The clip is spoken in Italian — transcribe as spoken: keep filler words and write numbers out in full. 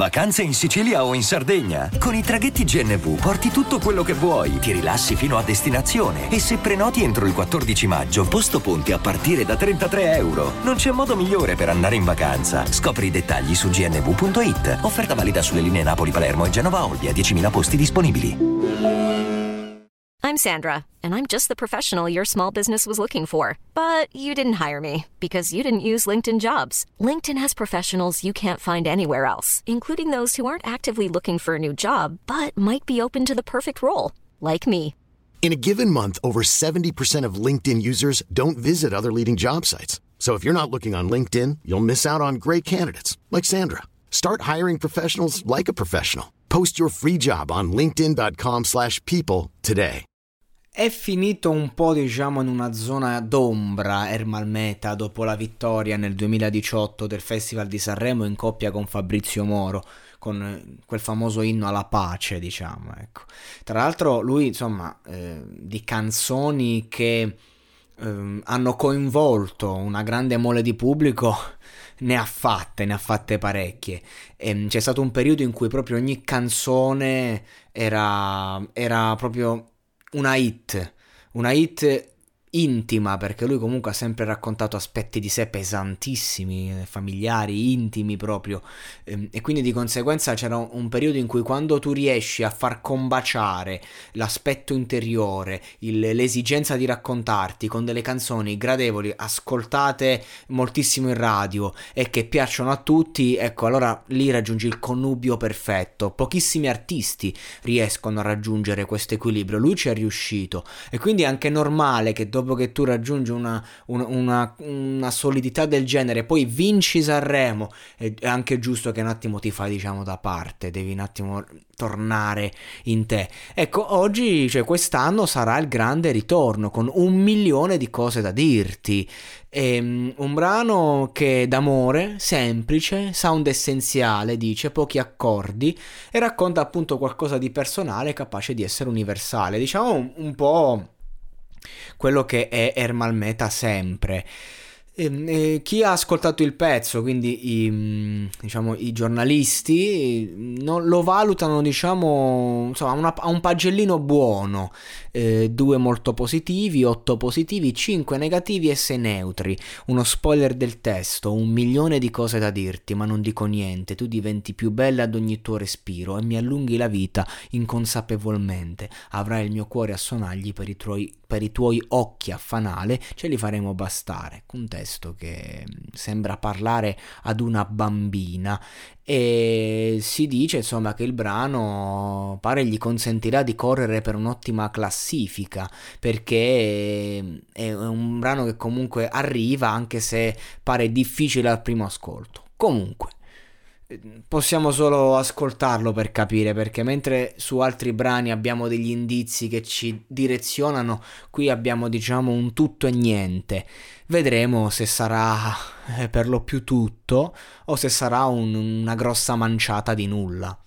Vacanze in Sicilia o in Sardegna? Con i traghetti G N V porti tutto quello che vuoi, ti rilassi fino a destinazione e se prenoti entro il quattordici maggio, posto ponti a partire da trentatré euro. Non c'è modo migliore per andare in vacanza. Scopri i dettagli su g n v punto i t. Offerta valida sulle linee Napoli-Palermo e Genova-Olbia, diecimila posti disponibili. I'm Sandra, and I'm just the professional your small business was looking for. But you didn't hire me because you didn't use LinkedIn Jobs. LinkedIn has professionals you can't find anywhere else, including those who aren't actively looking for a new job, but might be open to the perfect role, like me. In a given month, over seventy percent of LinkedIn users don't visit other leading job sites. So if you're not looking on LinkedIn, you'll miss out on great candidates like Sandra. Start hiring professionals like a professional. Post your free job on linkedin dot com slash people today. È finito un po', diciamo, in una zona d'ombra Ermal Meta dopo la vittoria nel duemiladiciotto del Festival di Sanremo in coppia con Fabrizio Moro, con quel famoso inno alla pace, diciamo, ecco. Tra l'altro lui, insomma, eh, di canzoni che eh, hanno coinvolto una grande mole di pubblico ne ha fatte, ne ha fatte parecchie. E c'è stato un periodo in cui proprio ogni canzone era, era proprio una hit, una hit intima, perché lui comunque ha sempre raccontato aspetti di sé pesantissimi, familiari, intimi proprio, e quindi di conseguenza c'era un periodo in cui quando tu riesci a far combaciare l'aspetto interiore, il, l'esigenza di raccontarti con delle canzoni gradevoli, ascoltate moltissimo in radio e che piacciono a tutti, ecco, allora lì raggiungi il connubio perfetto. Pochissimi artisti riescono a raggiungere questo equilibrio, lui ci è riuscito, e quindi è anche normale che dopo dopo che tu raggiungi una, una, una, una solidità del genere, poi vinci Sanremo, è anche giusto che un attimo ti fai, diciamo, da parte, devi un attimo tornare in te. Ecco, oggi, cioè quest'anno sarà il grande ritorno con un milione di cose da dirti. È un brano che d'amore, semplice, sound essenziale, dice, pochi accordi, e racconta appunto qualcosa di personale capace di essere universale, diciamo un, un po' quello che è Ermal Meta sempre. E, e, chi ha ascoltato il pezzo, quindi i, diciamo, i giornalisti, non, lo valutano, diciamo, insomma, una, a un pagellino buono, eh, due molto positivi, otto positivi, cinque negativi e sei neutri. Uno spoiler del testo: un milione di cose da dirti, ma non dico niente, tu diventi più bella ad ogni tuo respiro e mi allunghi la vita inconsapevolmente, avrai il mio cuore a sonagli per i tuoi, per i tuoi occhi a fanale, ce li faremo bastare. Un testo che sembra parlare ad una bambina, e si dice insomma che il brano pare gli consentirà di correre per un'ottima classifica, perché è un brano che comunque arriva, anche se pare difficile al primo ascolto. Comunque possiamo solo ascoltarlo per capire, perché mentre su altri brani abbiamo degli indizi che ci direzionano, qui abbiamo, diciamo, un tutto e niente. Vedremo se sarà per lo più tutto o se sarà un, una grossa manciata di nulla.